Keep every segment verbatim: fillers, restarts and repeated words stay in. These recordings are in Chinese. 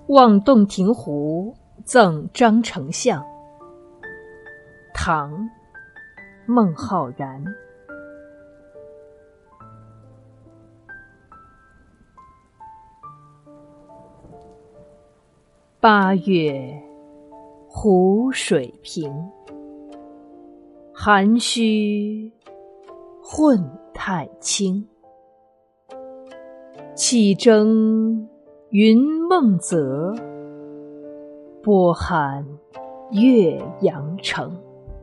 望洞庭湖赠张丞相，唐·孟浩然。八月湖水平，涵虚混太清。气蒸云梦泽，波撼岳阳城。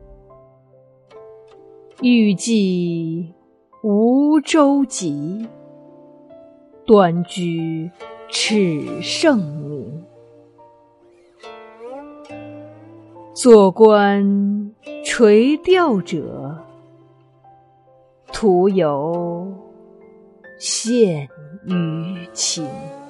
欲济无舟楫，端居耻圣明。坐观垂钓者，徒有羡鱼情。